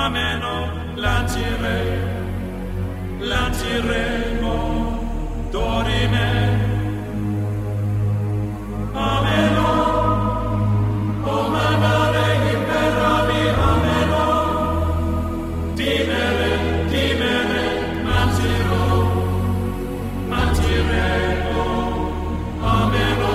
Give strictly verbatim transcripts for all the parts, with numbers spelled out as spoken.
ameno, lancire, lanciremo, dorime, ameno, o manare imperavi, ameno, timere, timere, lanciro, lanciremo, ameno.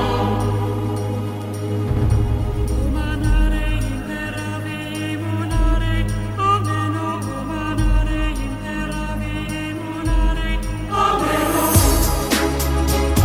Ameno.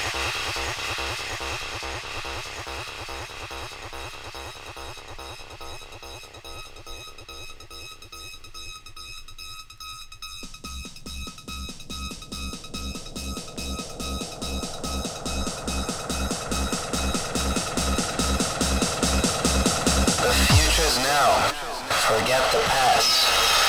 Forget the past.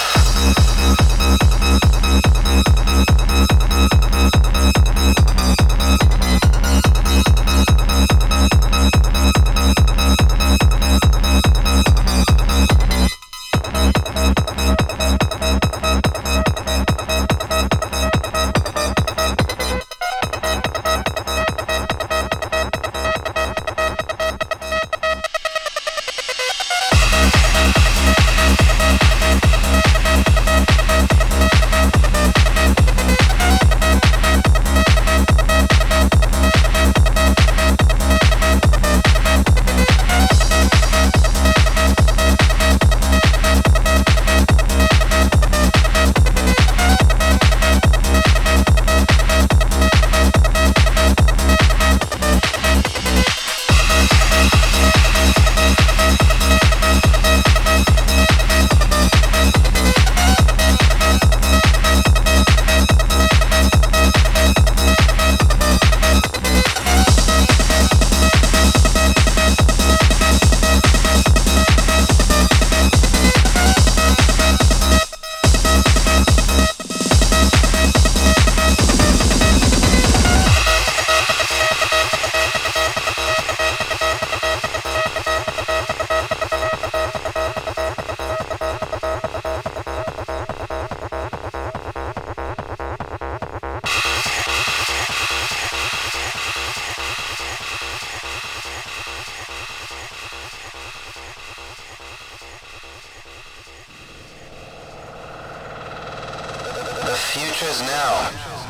The future's now.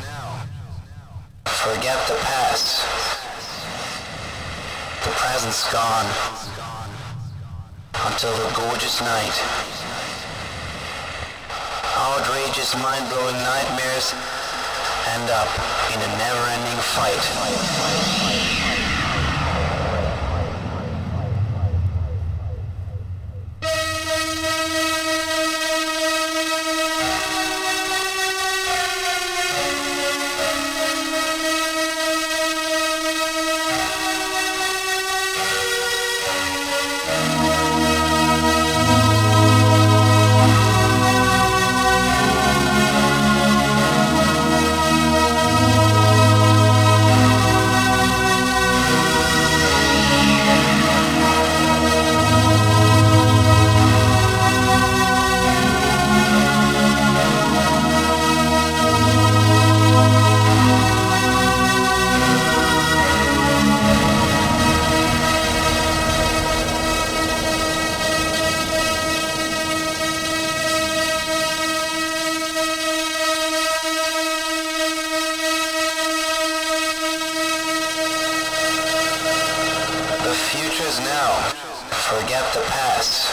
Forget the past. The present's gone. Until the gorgeous night. Outrageous, mind-blowing nightmares end up in a never-ending fight. The future's now. Forget the past.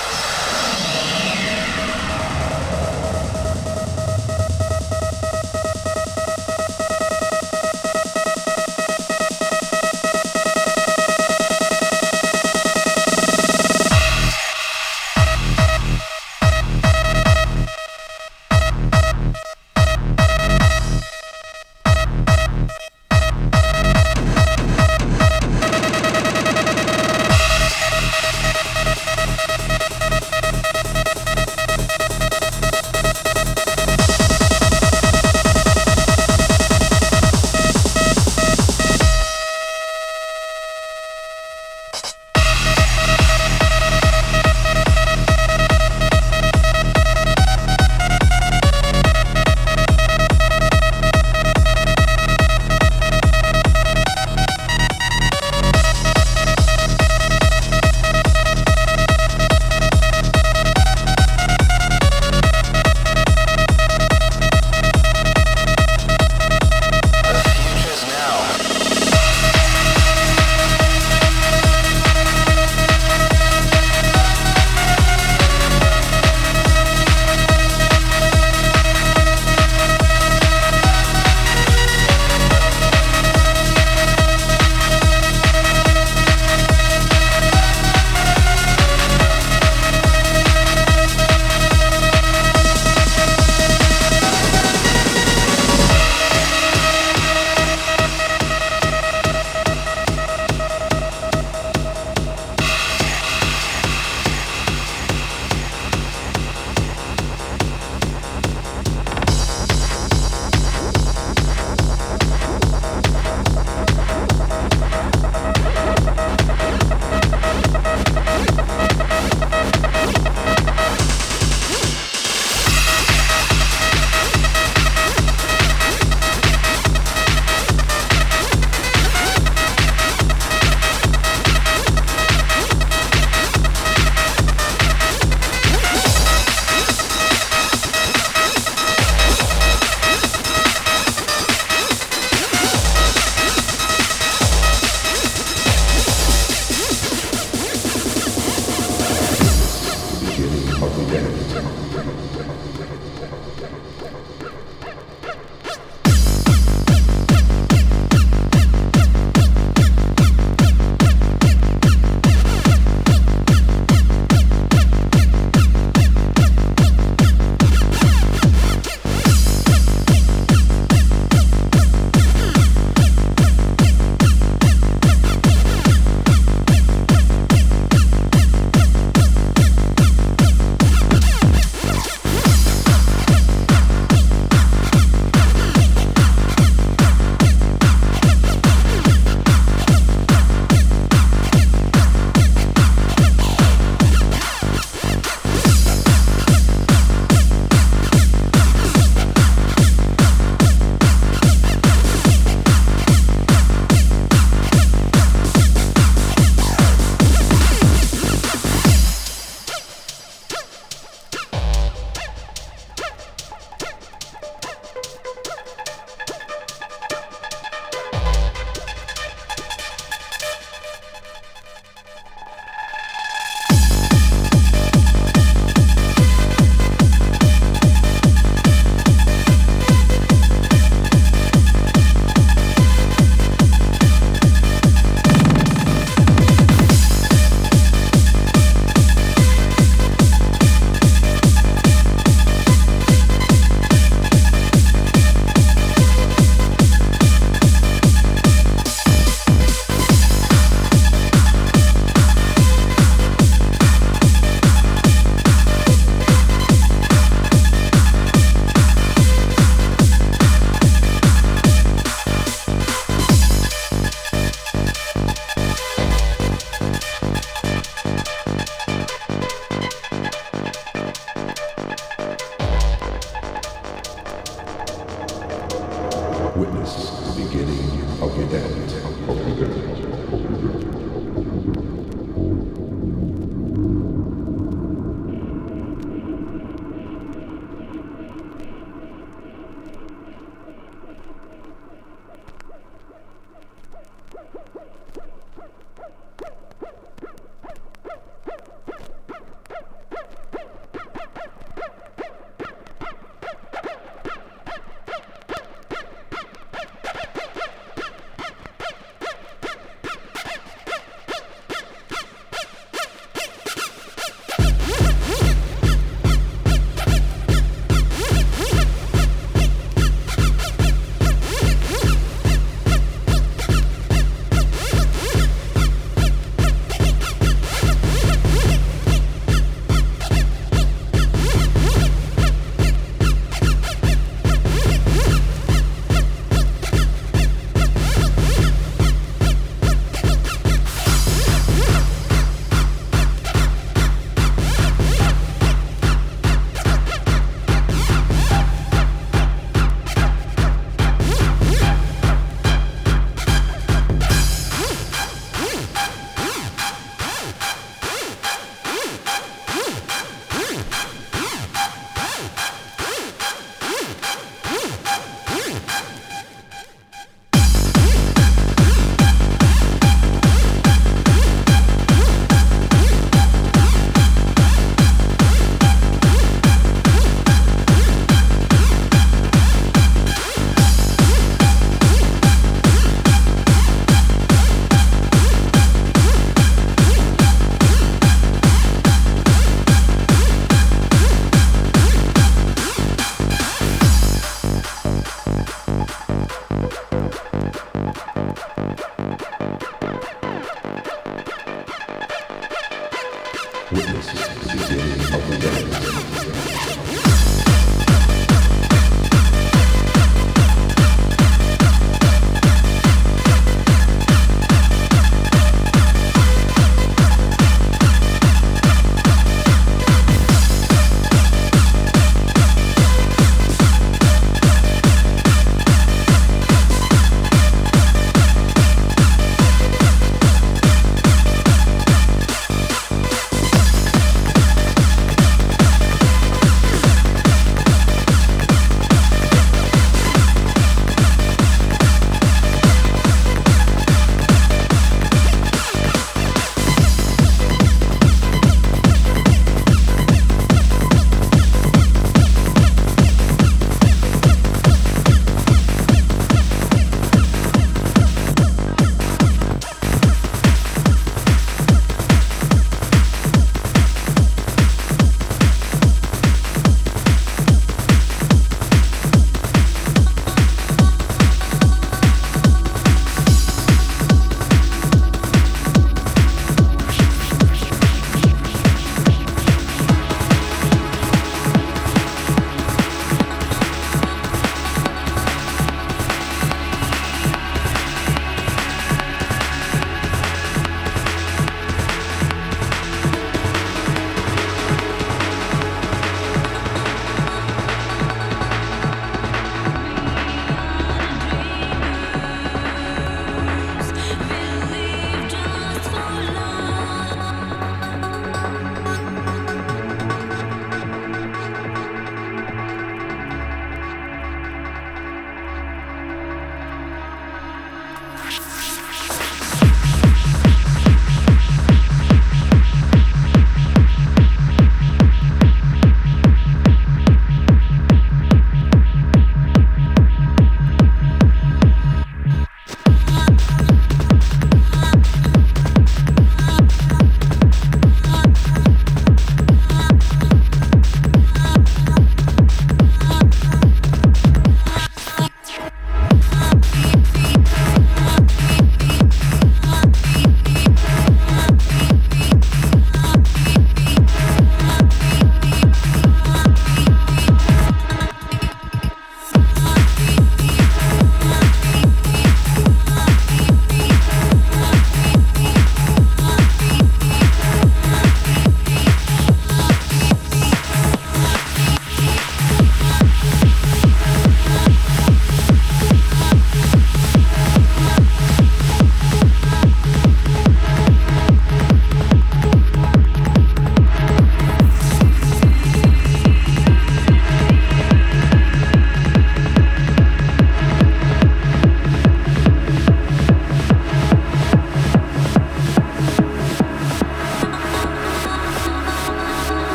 witnesses to the beginning of the end.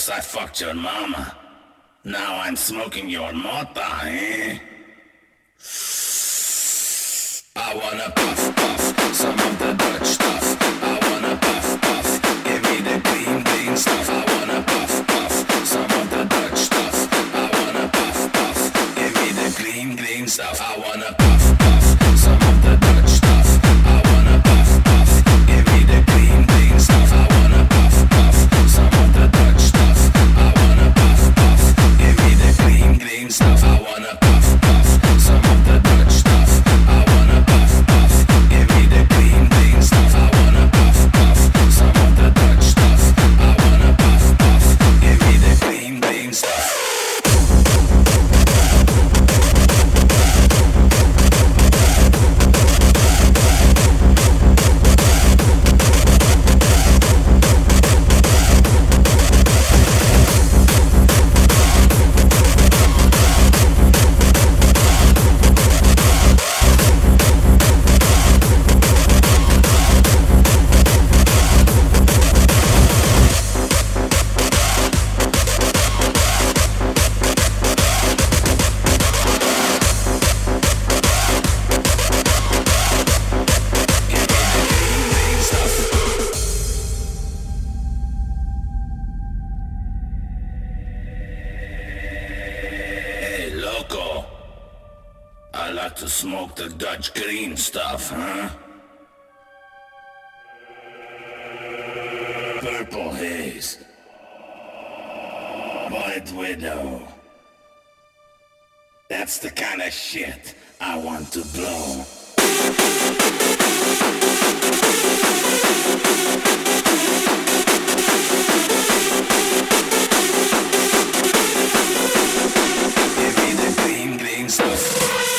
First I fucked your mama. Now I'm smoking your mota, eh? I wanna puff, puff, some of the Dutch stuff. I wanna puff, puff, give me the clean, clean stuff. I wanna puff, puff, some of the Dutch stuff. I wanna puff, puff, give me the clean, clean stuff. I wanna puff, puff, some of the Dutch stuff. I wanna puff, puff, give me the clean, clean stuff. I wanna puff, puff, some of the Dutch stuff. I wanna puff, puff, give me the clean, clean stuff. I wanna puff, puff, some of the Dutch stuff. I wanna puff, puff, give me the clean, clean stuff. I wanna puff, puff, some of the Dutch stuff. I wanna puff, puff, give me the clean, clean stuff. To smoke the Dutch green stuff, huh? Purple haze. White widow. That's the kind of shit I want to blow. Give me the green, green stuff.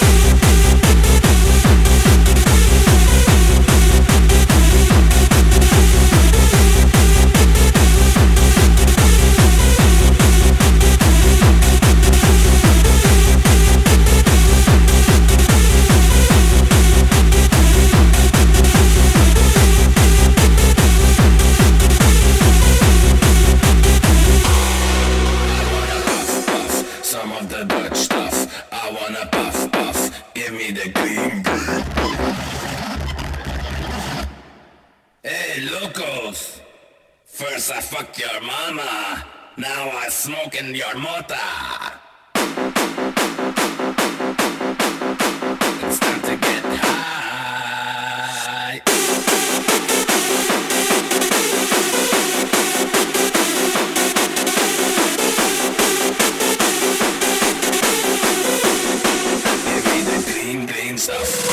First I fucked your mama, now I smoking your mota. It's time to get high. Give me the green, green stuff.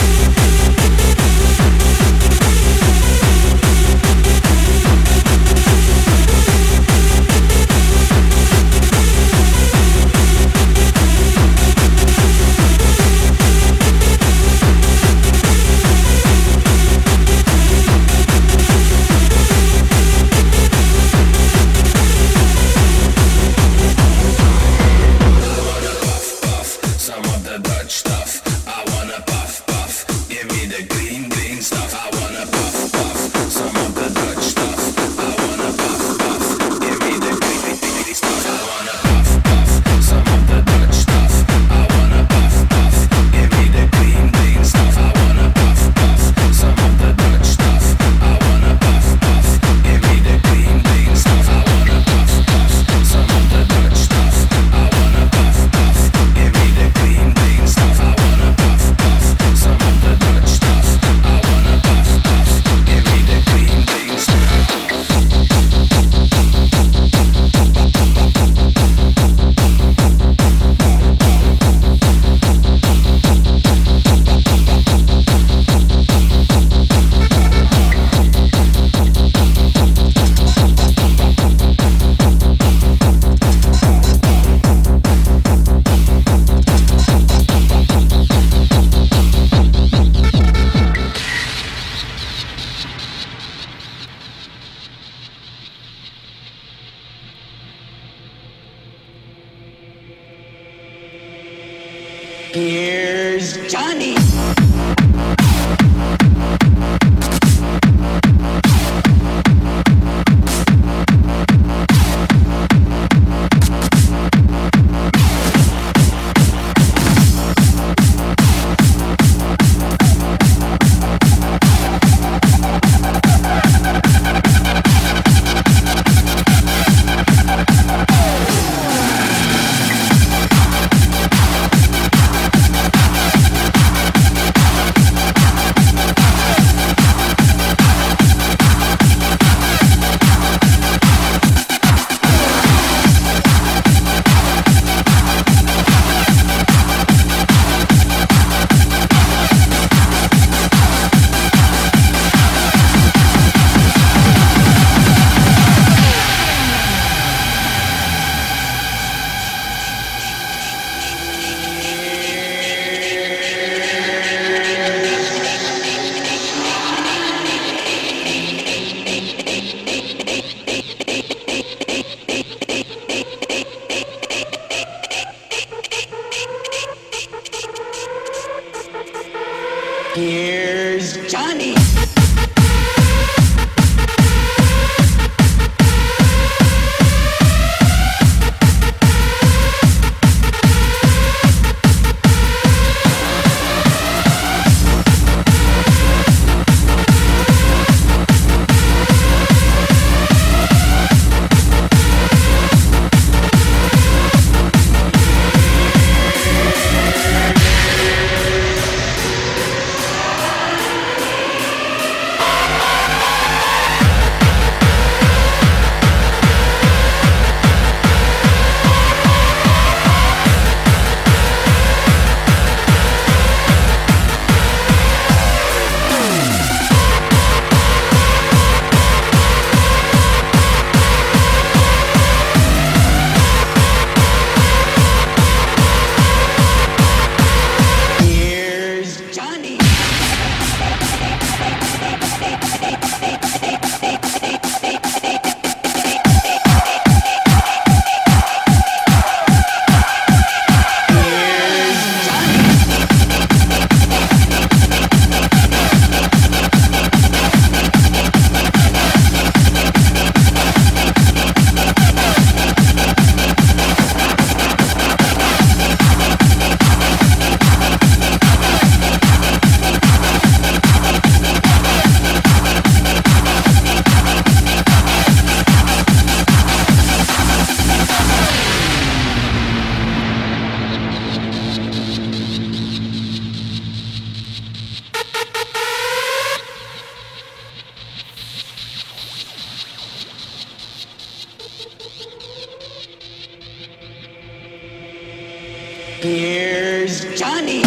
Here's Johnny. Here's Johnny. Here's Johnny.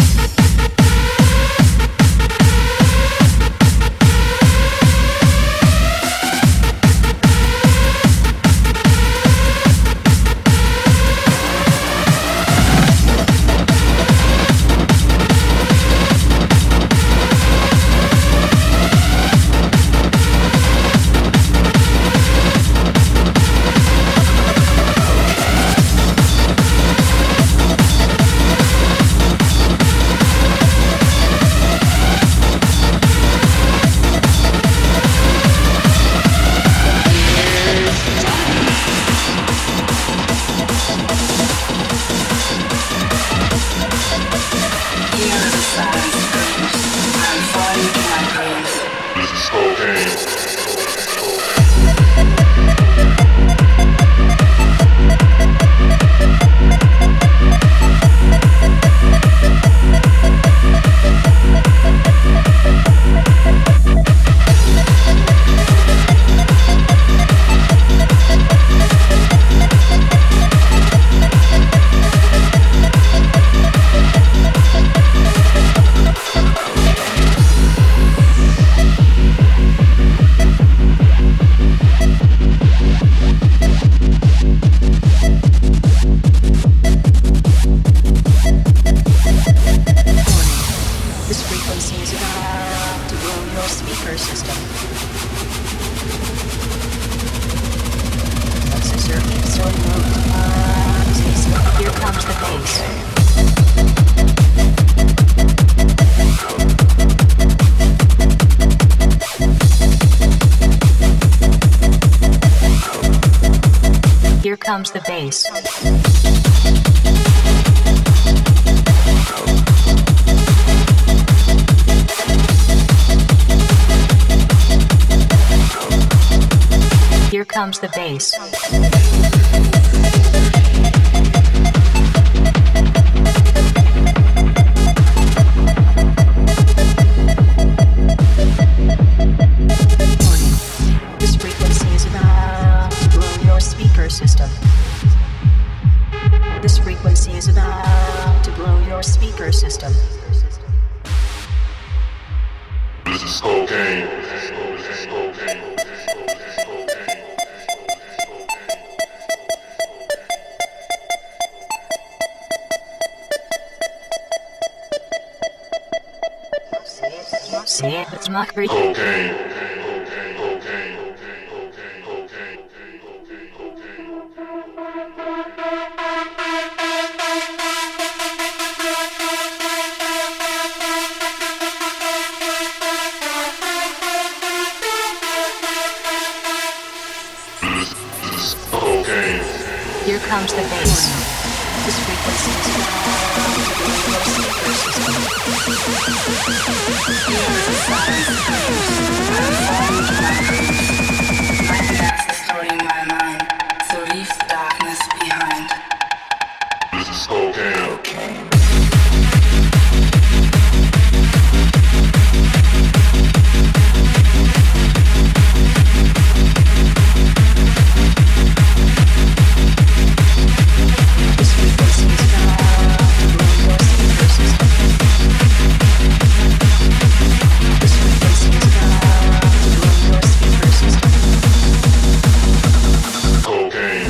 Here comes the bass. Here comes the bass. This frequency is about to blow your speaker system. This frequency is about to blow your speaker system. This is cocaine. This is cocaine. See it, it's not free. Cocaine. comes the bass. This frequency is now activating your speaker system. Here's the silence screams. I'm falling to my dreams. Nightmares distorting my mind. So leave the darkness behind. This is cocaine. This frequency is now activating your speaker system. This frequency is now activating your speaker system. Cocaine.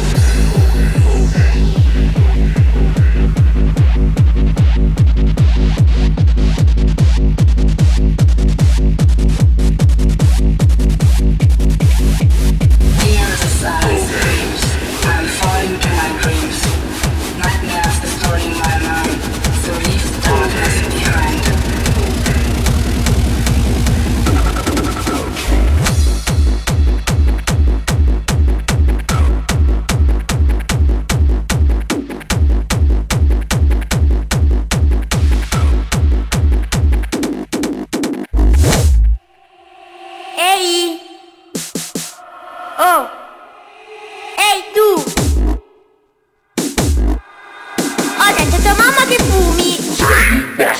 Here's the silence screams. I'm falling to my dreams. Nightmares distorting my mind. So leave the darkness behind. Ehi! Oh! Ehi tu! Ho detto a tua mamma che fumi!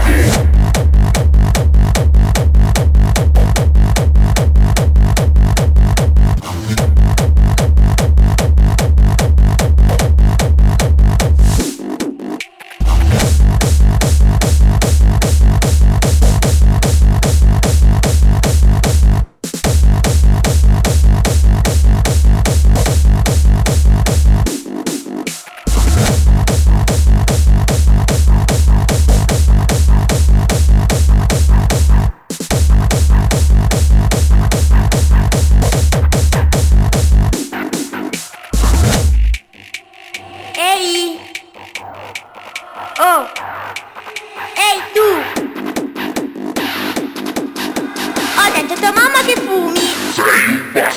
Ehi! Oh! Ehi tu! Ho detto a tua mamma che fumi!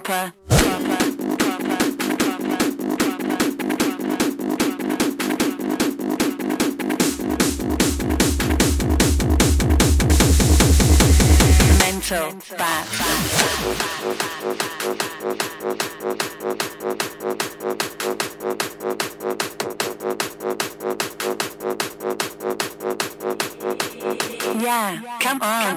proper, proper, proper, mental, bad, yeah, come on.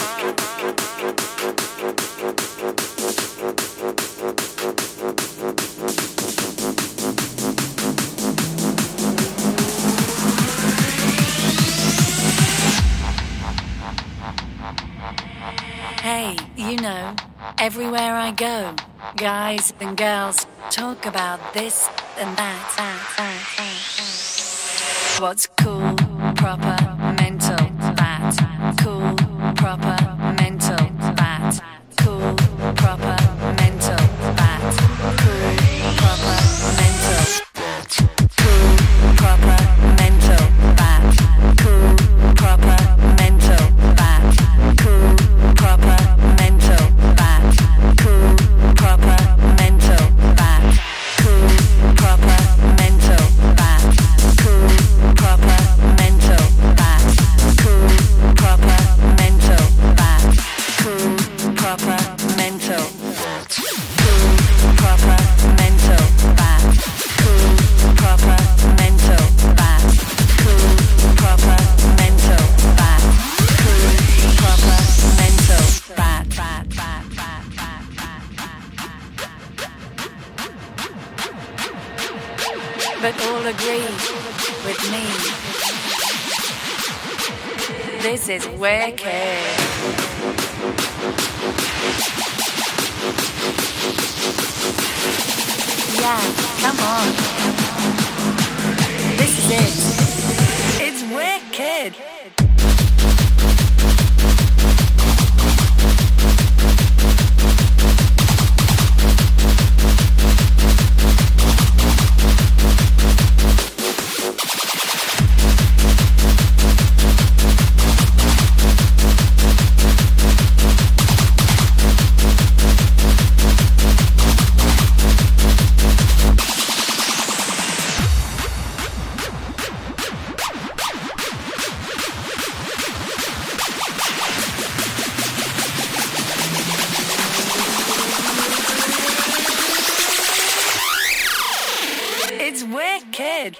Hey, you know, everywhere I go, guys and girls talk about this and that. that, that, that. What's cool, proper, mental, that. Cool, proper, mental, that. Cool, proper, mental, that. Cool, proper, mental, that. Cool, proper, mental, that. Cool, proper, mental, that. Cool, proper, mental, that. Cool, proper, mental, that. Cool, proper, mental, that. Cool, proper, mental, that. Cool, proper, mental, that. Cool, proper, mental, that. Cool, proper, mental, that. Cool, proper, mental, that. Cool, proper, mental, that. Cool, proper, mental, that. that, that, that, that, that. But all agree with me. This is wicked. Yeah, come on. This is it. It's wicked. It's wicked.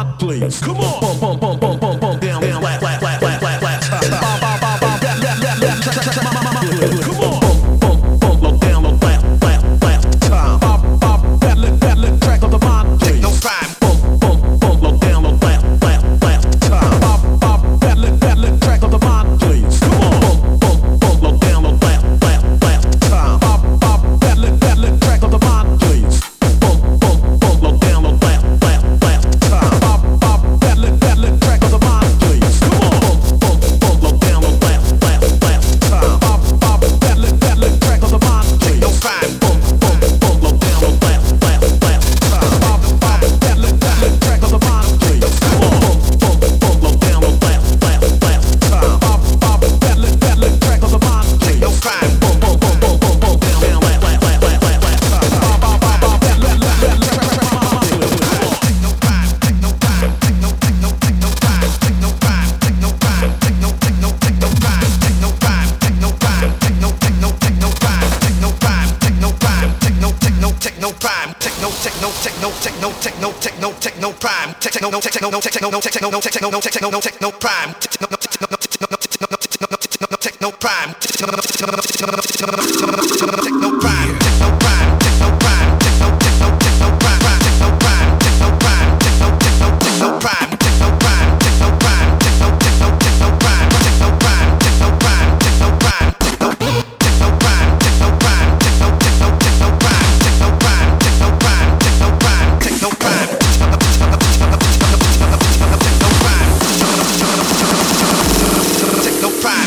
mind, please. Come on. Bump, bump, bump, bump, bump, bump, down, down, flat, flat, flat, flat, flat, flat. Bop, bop, bop, bop, that, that, that, that, track, track, track, my mind. Come on. Bump, bump, bump, low, down, low, flat, flat, flat. Time. Bop, bop, that, lit, that, lit, track of the mind, please. No crime. Bump, bump, bump, low, down, low, flat, flat, flat. Time. Bop, bop, that, lit, that, lit, track of the mind, please. Come on. Bump, bump, bump, low, down, low, flat, flat, flat. Time. Bop, bop, that, lit, that, lit, track of the mind, please. Bump, bump, bump, low, down, low, flat, flat, flat. Time. Bop, bop, that, lit, that, lit, track of the mind, please. Come on. Bump, bump, bump, low, down, low, flat, flat, flat. Time. Bop, bop, that, lit, that, lit, track of the mind, please. No crime. Bump, bump, bump, low, down, low, flat, flat, flat. Time. Bop, bop, that, lit, that, lit, track of the mind, please. Come on. Bump, bump, bump, low, down, low, flat, flat, flat. Time. Bop, bop, that, lit, that, lit, track of the mind, please. No crime. Bump, bump, bump, bump, bump, bump, down, down, flat, flat, flat, flat, flat, flat. Bop, bop, bop, bop, that, lit, lit, lit, track, track, track, my mind, please. No crime. Take no crime. Take no, take no, take no crime. Take no crime. Take no crime. Take no, take no, take no crime. Take no crime. Take no crime. Take no, take no, take no crime. Take no crime. Take no crime. Take no, take no, take no crime. Take no, take no, take no, take no, take no, take no, take no crime. Take no, take no, take no, take no, take no, take no, take no, take no crime. Take no, take no, take no, take no, take no, take no, take no crime. Take no, take no, take no, take no, take no crime. Take no crime. Take no crime. Take no, take no, take no crime. Take no crime. Take no crime. Take no, take no, take no crime. Take no crime. Take no crime. Take no, take no, take no crime. Take no crime. Take no crime. Take no crime. Take no, take no crime. Take no crime. Take no, take no, take no crime. Take no crime. Take no crime. Take no crime. Take no crime. Take no crime.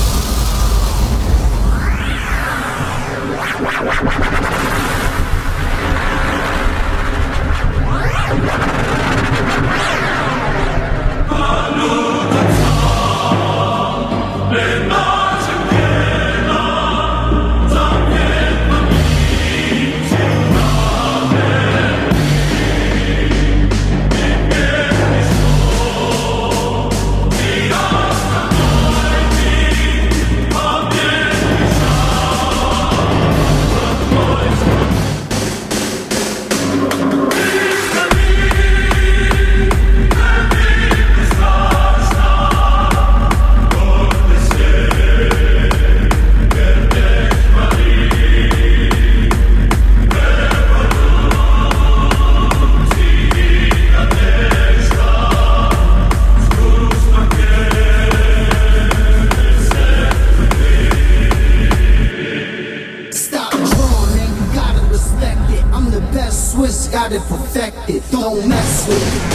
Swiss got it perfected, don't mess with it.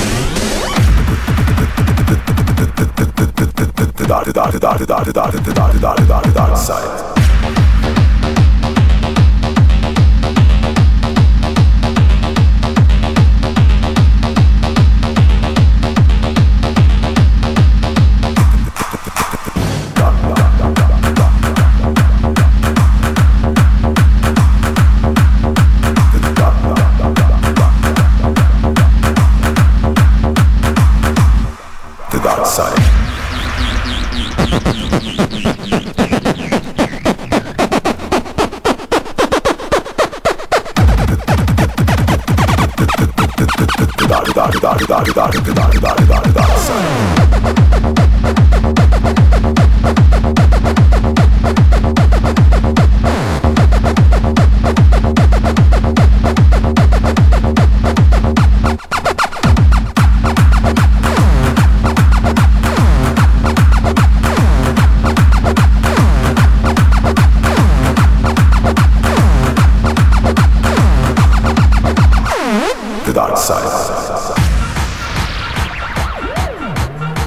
The dark side.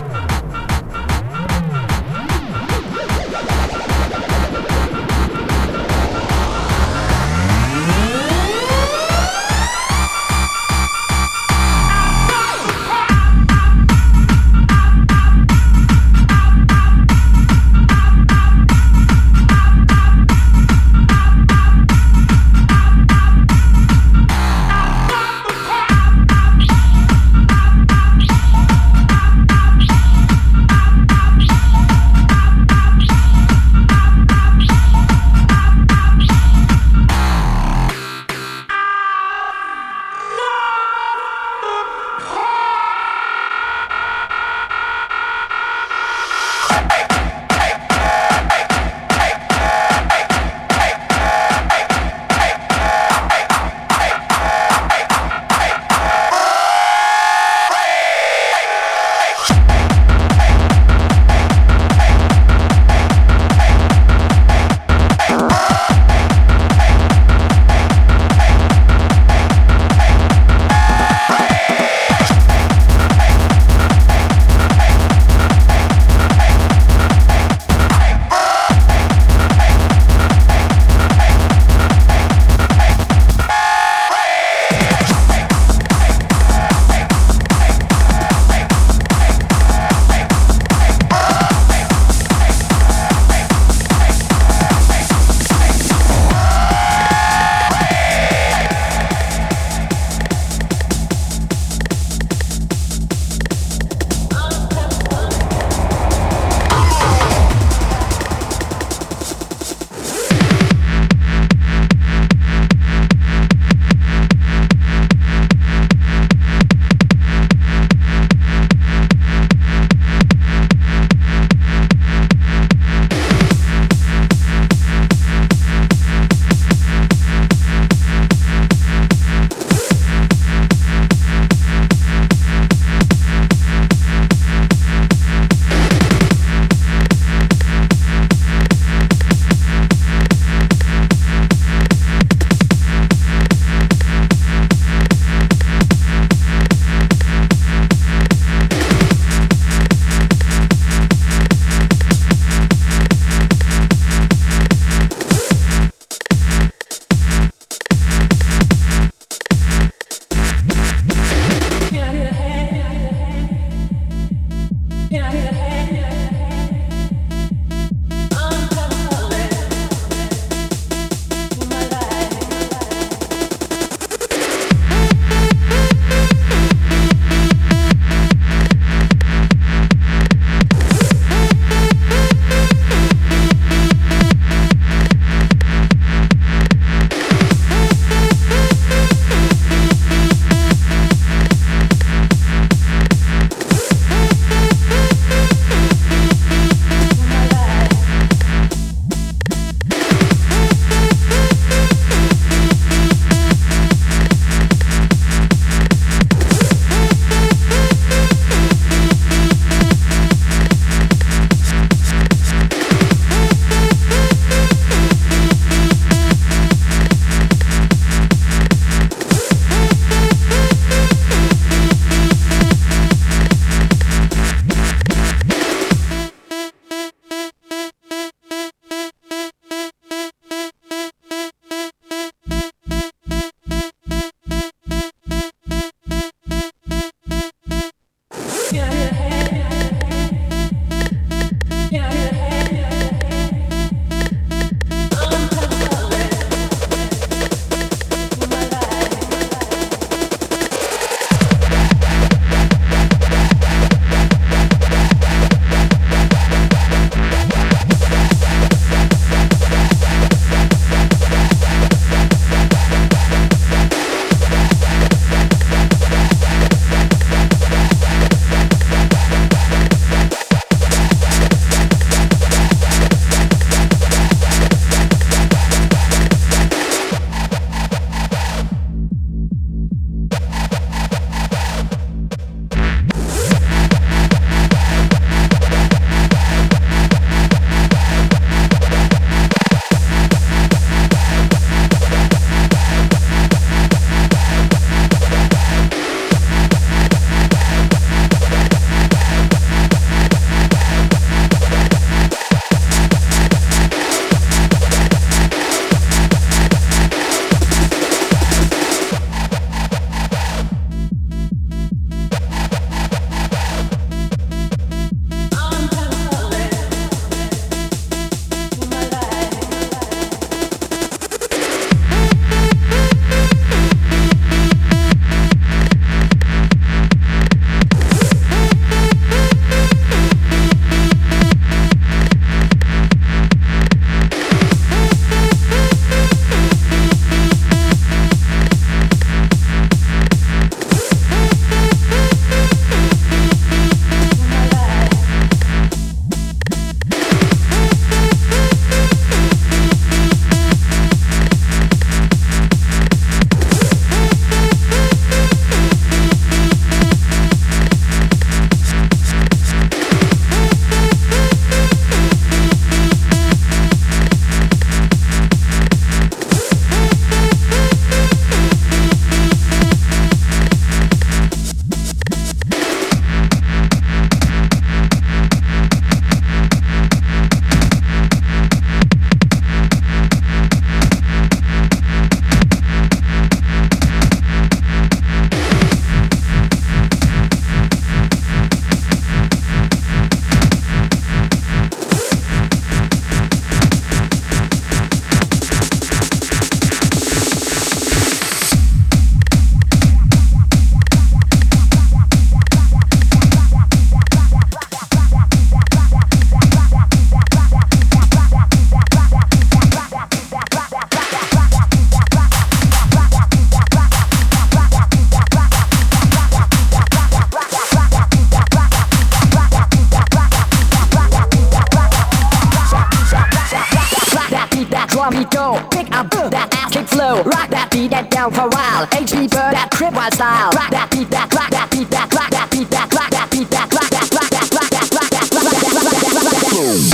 flow. Rock that beat that down for a while. H B Bird that crib wild style. Rock that beat that, rock that beat that, rock that beat that, rock that beat that, rock that, rock that, rock that, rock that, rock that, rock that, rock that, rock that.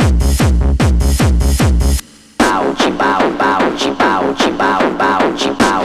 Bow, bow, bow, bow, bow, bow, bow, bow.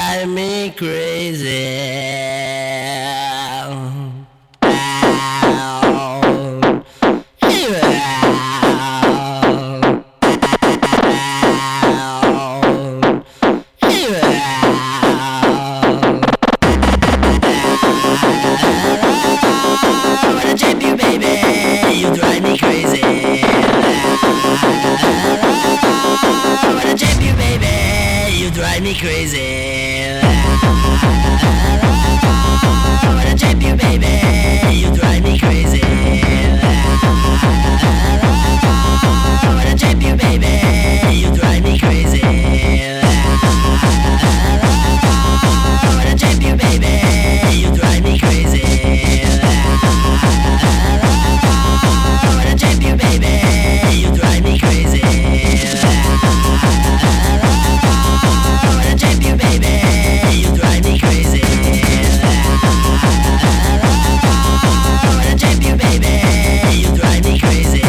drive me crazy. Drive me crazy. I wanna jump you, baby. You drive me crazy. I wanna jump you, baby. You drive me crazy. I wanna jump you, baby. You drive me crazy. I wanna jump you, baby. You drive me crazy. Jump you, baby, you drive me crazy. I wanna jump you, baby, you drive me crazy.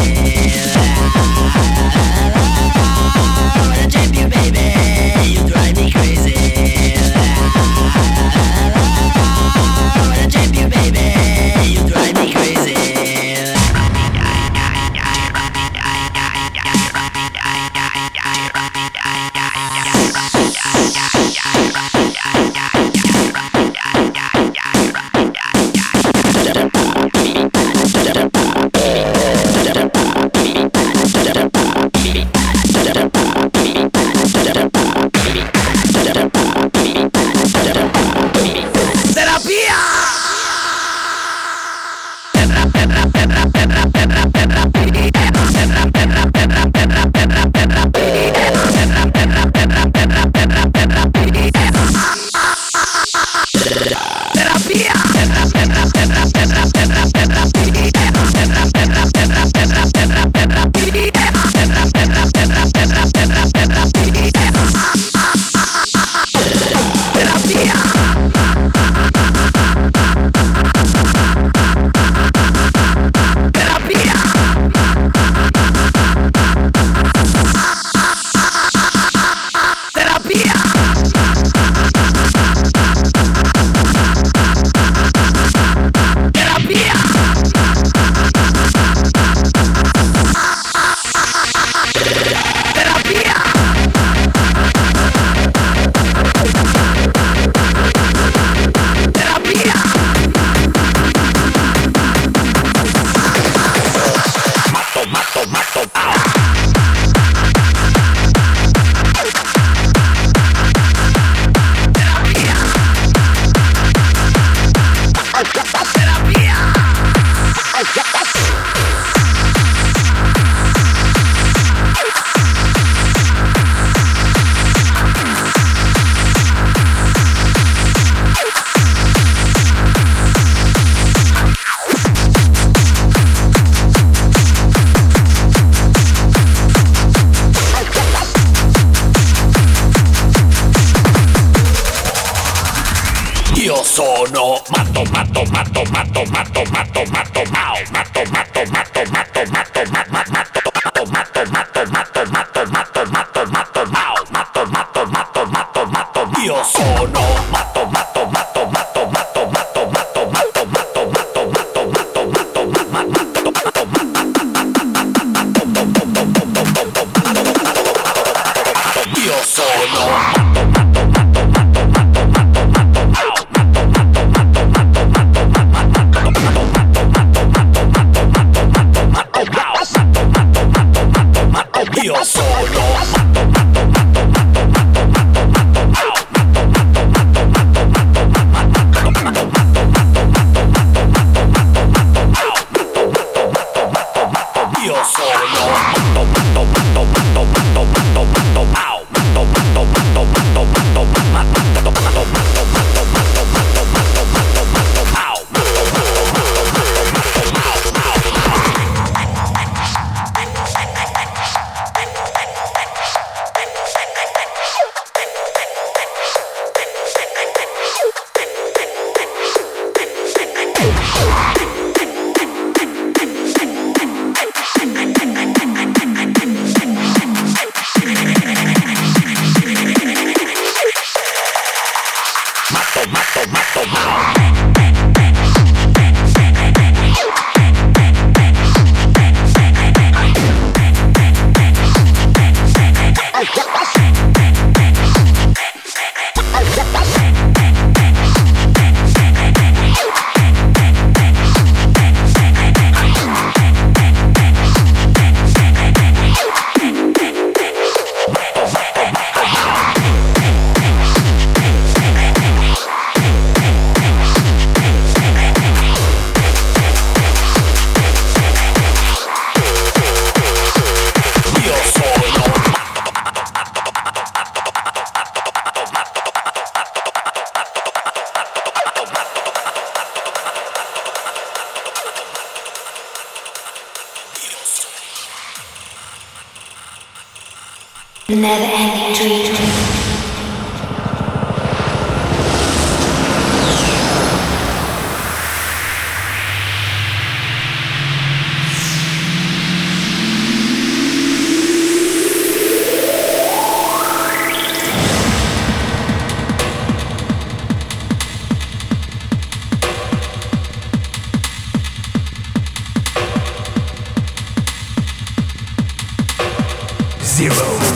I wanna jump you, baby, you drive me crazy. I wanna jump you, baby, you drive me crazy. Io sono matto, matto, matto, matto, matto, matto, matto, mao, matto, matto, matto, matto, matto, matto, matto, matto, matto, matto, matto, matto, matto, matto, matto, mao, matto, matto, matto, matto, matto, io sono matto, matto, matto, matto, matto, matto, matto, matto, matto, matto, matto, matto, matto, matto, matto, io sono matto, matto, matto, matto, matto, matto, matto, mao. Matto, matto, matto, matto, matto, matto, matto, matto, matto, matto, matto, matto, matto, Never-ending dream. Zero.